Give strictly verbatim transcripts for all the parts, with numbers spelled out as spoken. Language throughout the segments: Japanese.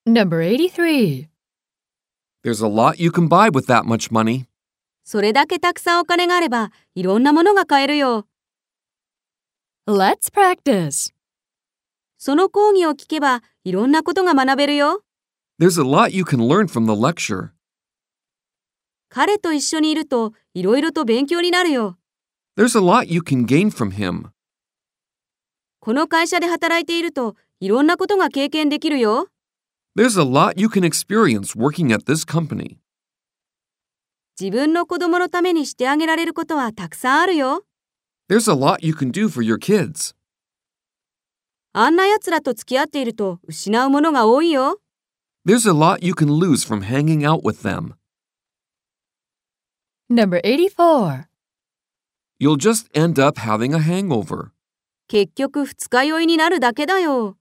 Number eighty-three. There's a lot you can buy with that much money. それだけたくさんお金があれば、いろんなものが買えるよ。 Let's practice. その講義を聞けば、いろんなことが学べるよ。 There's a lot you can learn from the lecture. 彼と一緒にいると、いろいろと勉強になるよ。 There's a lot you can gain from him. この会社で働いていると、いろんなことが経験できるよ。 There's a lot you can experience working at this company. 自分の子供のためにしてあげられることはたくさんあるよ。 There's a lot you can do for your kids. あんな奴らと付き合っていると失うものが多いよ。 There's a lot you can lose from hanging out with them. Number eighty-four. You'll just end up having a hangover. 結局二日酔いになるだけだよ。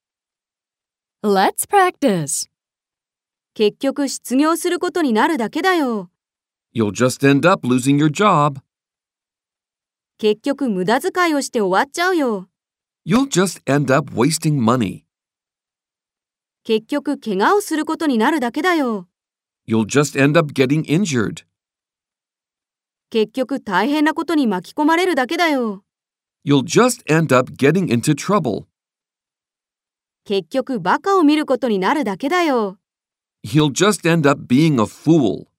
Let's practice. 結局失業することになるだけだよ。 You'll just end up losing your job. 結局無駄遣いをして終わっちゃうよ。 You'll just end up wasting money. 結局怪我をすることになるだけだよ。 You'll just end up getting injured. 結局大変なことに巻き込まれるだけだよ。 You'll just end up getting into trouble. 結局バカを見ることになるだけだよ。 You'll just end up being a fool.